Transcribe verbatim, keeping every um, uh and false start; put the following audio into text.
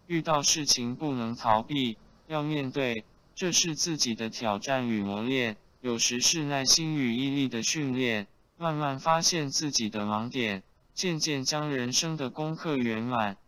遇到事情不能逃避，要面对，这是自己的挑战与磨练，有时是耐心与毅力的训练，慢慢发现自己的盲点，渐渐将人生的功课圆满。